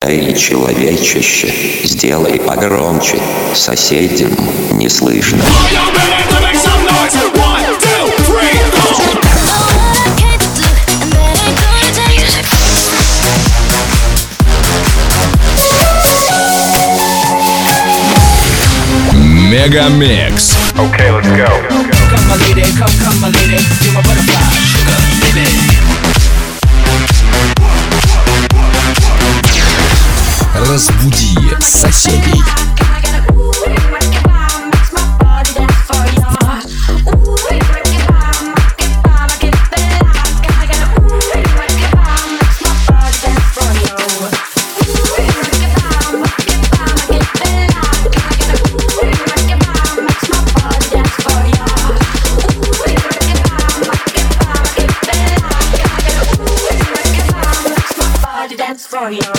Эй, человечище, сделай погромче, соседям не слышно. Мегамикс. Okay, let's go. Come my lady, come my lady, you're my butterfly, sugar, baby. Разбуди соседей. For you.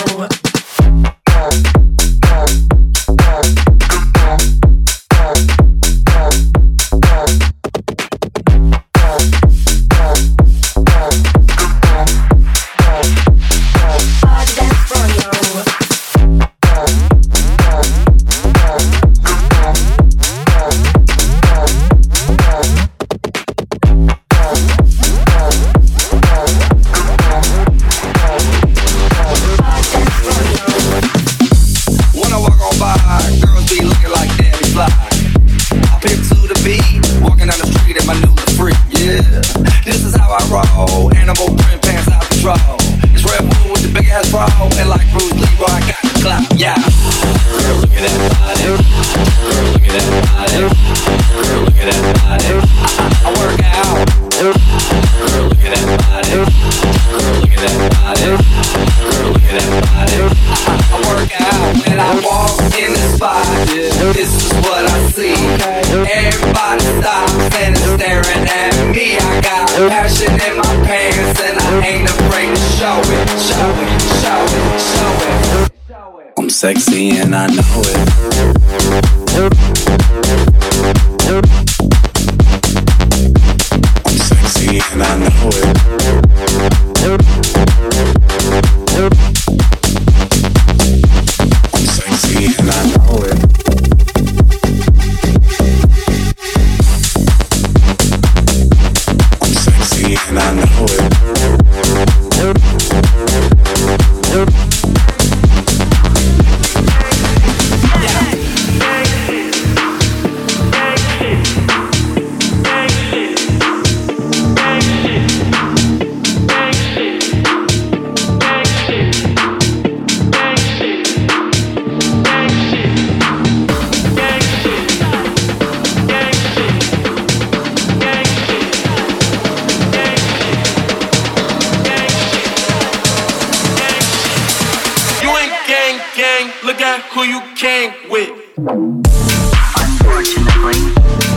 I'm sexy and I know it. I'm sexy and I know it. I'm sexy and I know it. I'm sexy and I know it. Look at who you came with. Unfortunately.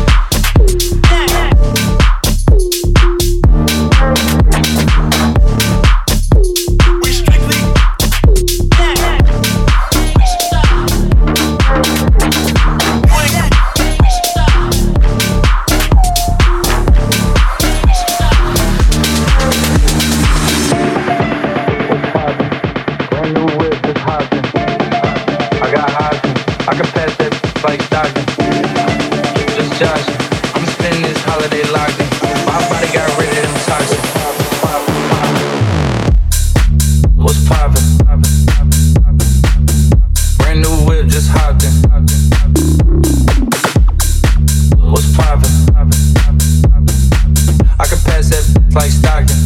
Like Stockton.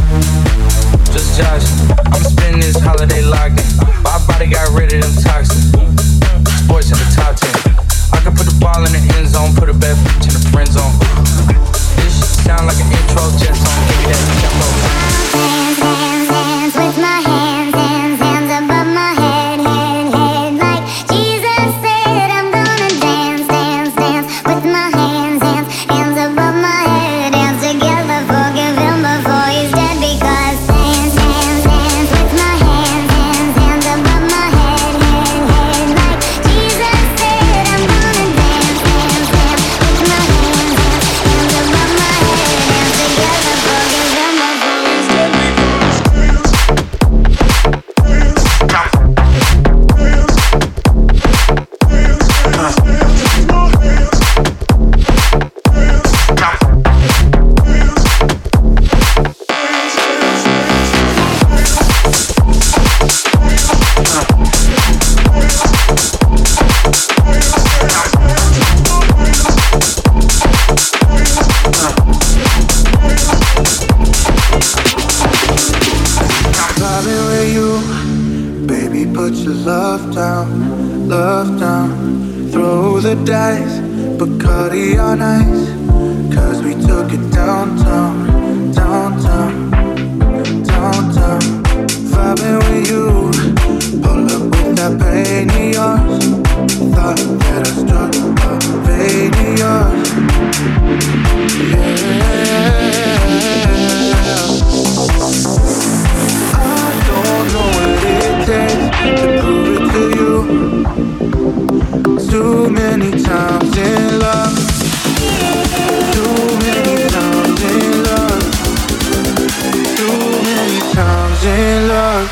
Just Josh, I'm spending this holiday locked in. My body got rid of them toxins. with you. Baby, put your love down, love down. Throw the dice, Bacardi on ice. Cause we took it downtown, downtown, downtown. Vibing with you, pull up with that pain of yours. Thought that I struck a vein of yours. Yeah. I don't know what it takes to prove it to you. Too many times in love. Too many times in love. Too many times in love.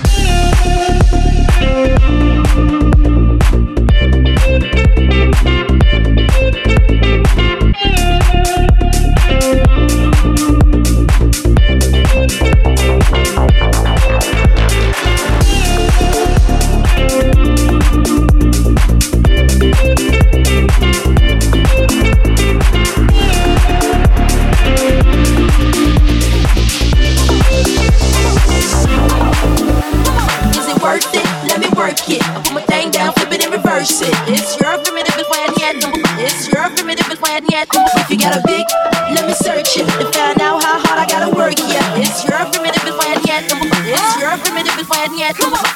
It's your primitive is when yet. It's your primitive is when yet. If you got a big, let me search it to find out how hard I gotta work. Yeah, it's your primitive is when yet. It's your primitive is when yet.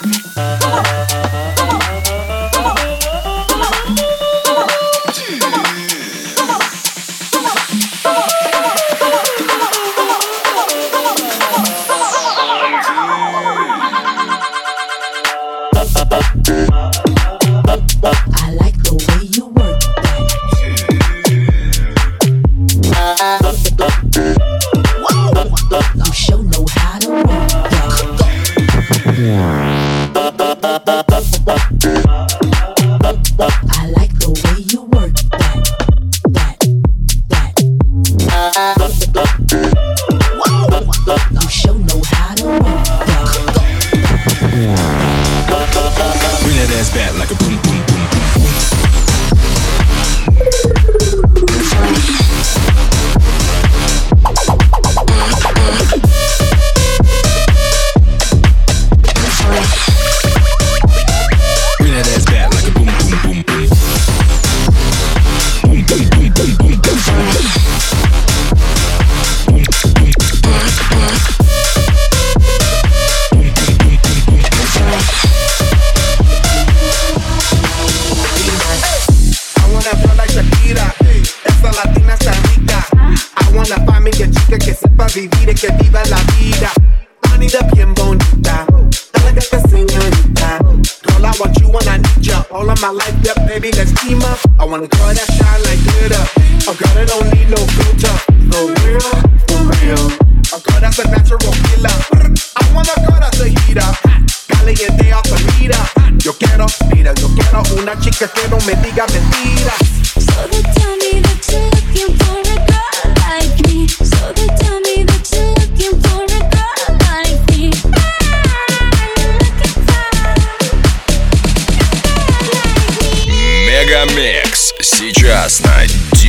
Мегамикс сейчас на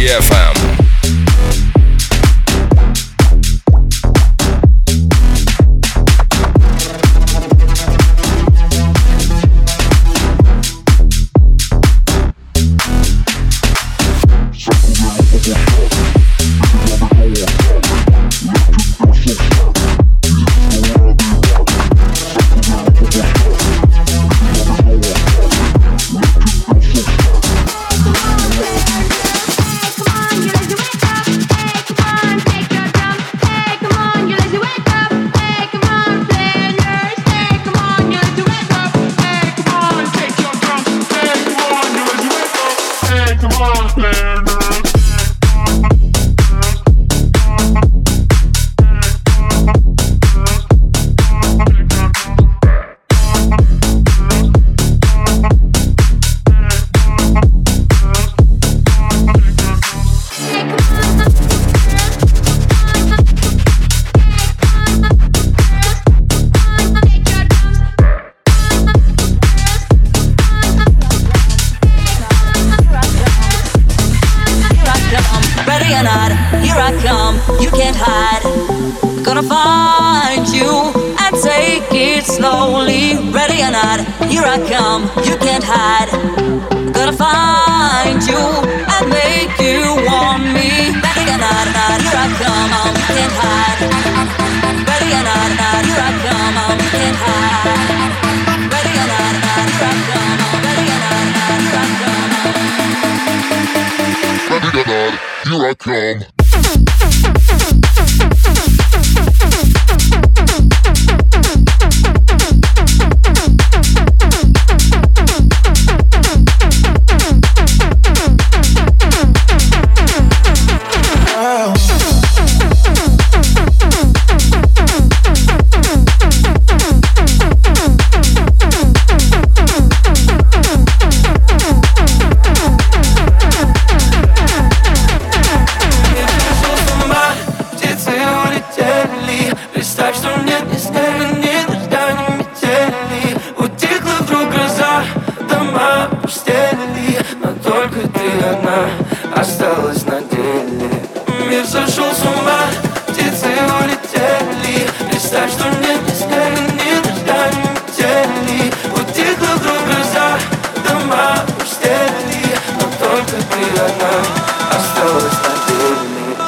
DFM. Come on, slowly. Ready or not, here I come. You can't hide. Gonna find you and make you want me. Ready or not, here I come. You can't hide. Ready or not, here I come. You can't hide. Ready or not, here I come. Ready or not, here I come. Ready or not, here I come. Осталась на деле. Мир сошел с ума, птицы улетели. Представь, что нет ни снега, ни дождя, ни метели. Утихла вдруг гроза, дома пустели. Но только ты одна осталась на деле.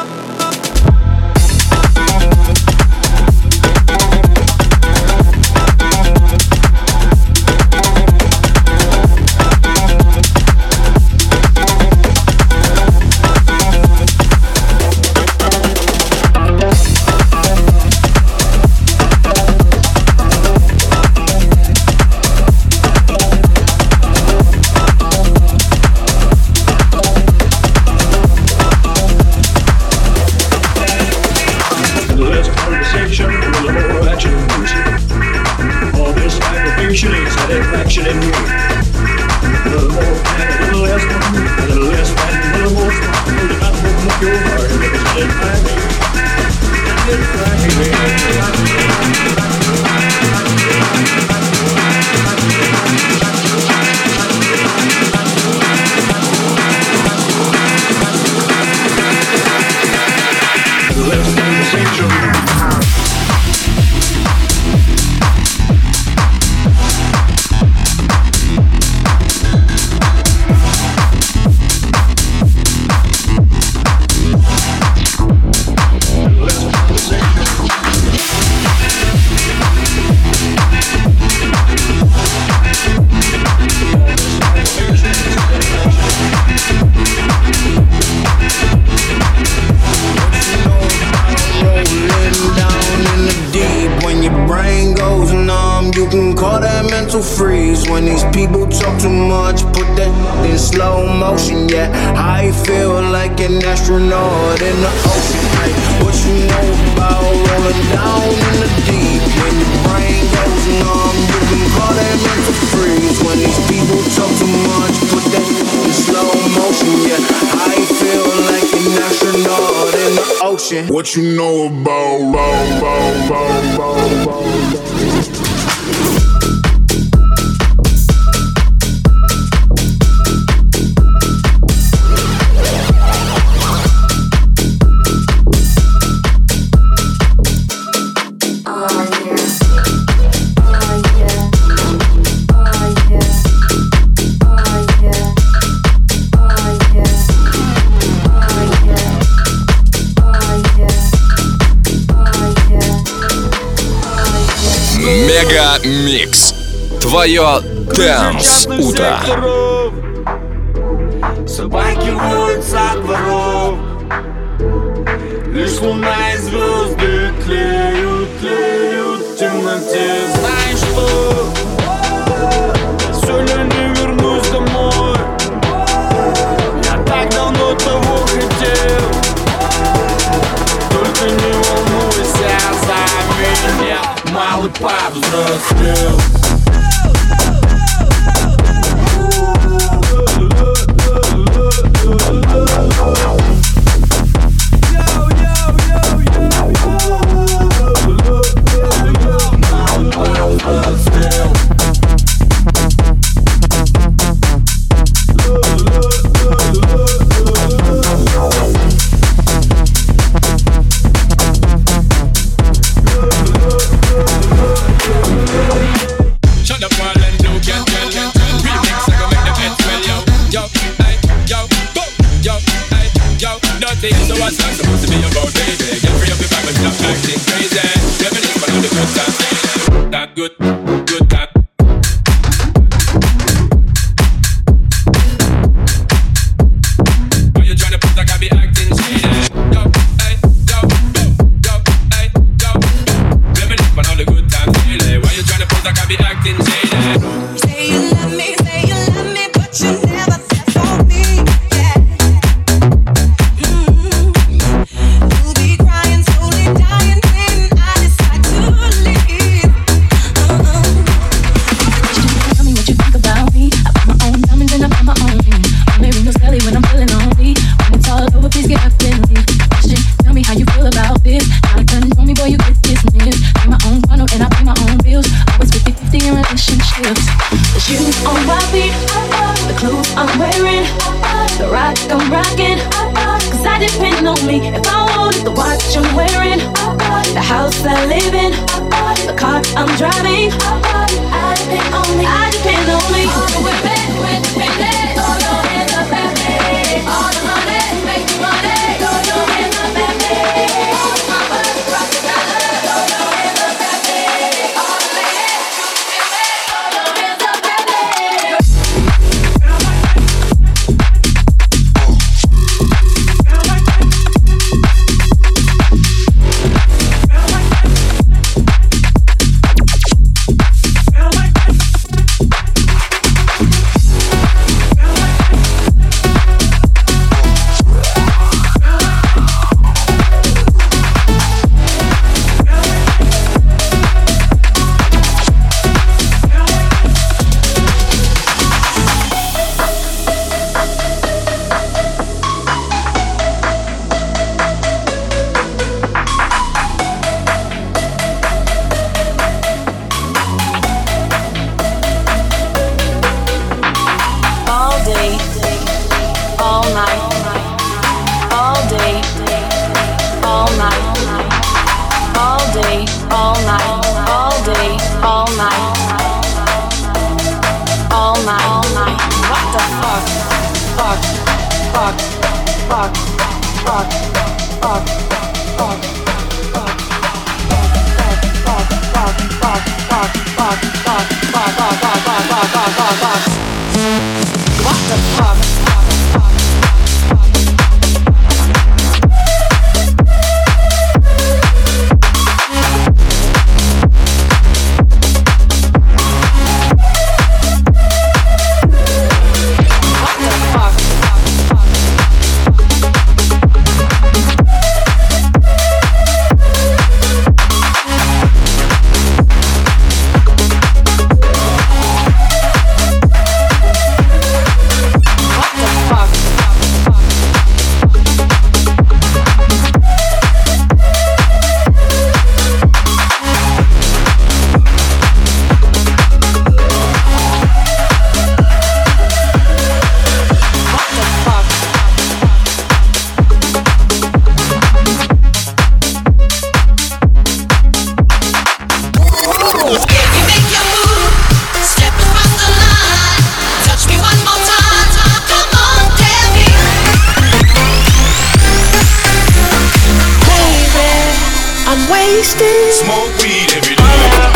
Freeze when these people talk too much. Put that in slow motion. Yeah, I feel like an astronaut in the ocean. Like, what you know about rolling down in the deep? When your brain goes numb, you can call that mental freeze. When these people talk too much, put that in slow motion. Yeah, I feel like an astronaut in the ocean. What you know about Мега Микс. Твое Дэнс утро. Собаки воют со дворов. Лишь луна и звезды тлеют, тлеют в темноте. Знаешь что? Сегодня не вернусь домой. Я так давно того хотел. Только не волнуйся за меня. Малый повзрослел. What's that supposed to be about, baby? Get free up your back and stop acting crazy. Reminisce on all the good times. That good time. Why you tryna put like I be acting shady? Yo, hey, yo, yo, hey, yo. Reminisce on all the good times, baby. Why you tryna put like I be acting shady? Say you love me, but you never said for me. Yeah. You'll be crying, slowly dying when I decide to leave. Tell me what you think about me. I buy my own diamonds and I buy my own ring. Only ring goes belly when I'm feeling lonely. When it's all over, please get up and leave. Question, tell me how you feel about this. Now you control me, boy, you get dismissed. Pay my own funnel and I pay my own bills. Always 50-50 in relationships. The shoes on my feet, the clothes I'm wearing, the rock I'm rocking. Cause I depend on me if I want the watch I'm wearing, the house I live in, the car I'm driving. I depend on me, I depend on me. We're back, we're dependent. Throw your hands up at me. All the money, make the money. Throw your hands up at me. All the mama, rock the dollar. Throw your hands up at me. All the ladies, throw your hands up at me. Smoke weed every day.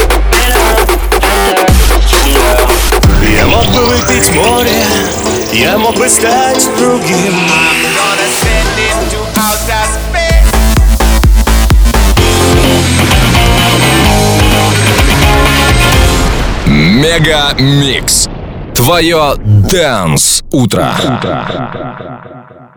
Я мог бы выпить море, я мог бы стать другим. Мега Микс. Твое Dance утро.